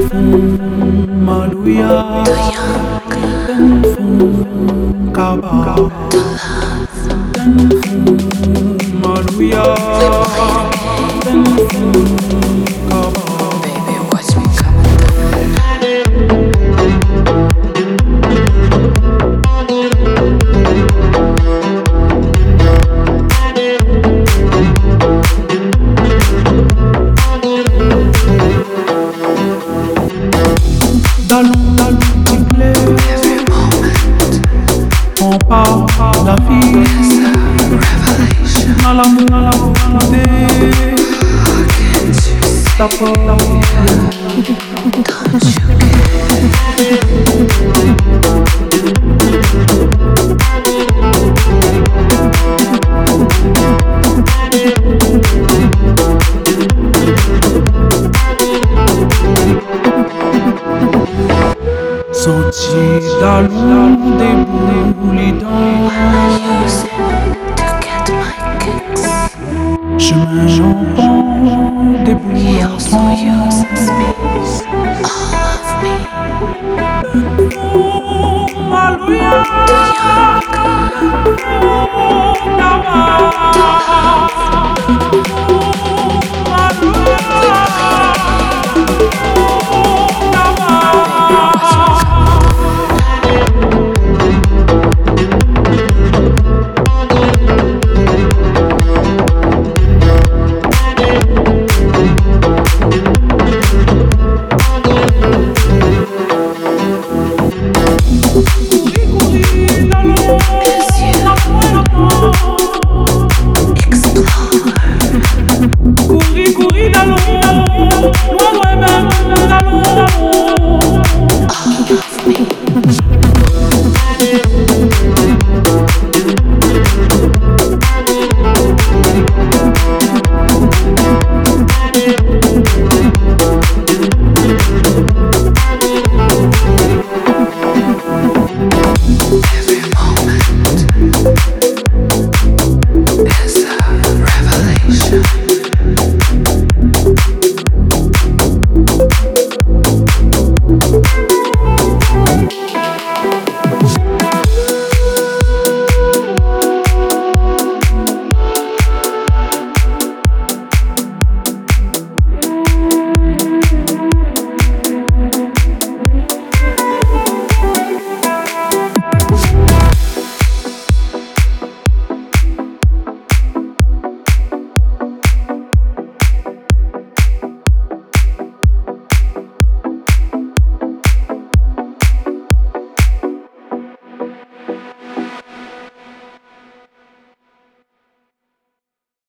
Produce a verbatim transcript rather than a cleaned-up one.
Maluya, Kaba, Maluya, Kaba. Baby, watch me coming Dallons, dallons, s'il plaît. every moment. On parle la vie, à l'amour, à l'amour, à l'amour. Can't you see? Stop, stop, Don't you Sentier d'allons, déboulés dans use it to get my kicks? chemin j'entends des He also bouillons. uses me, all of me. Maluya, The young, the love, we play the game. Baby, watch me coming Cause you explore. Courir, courir, allons,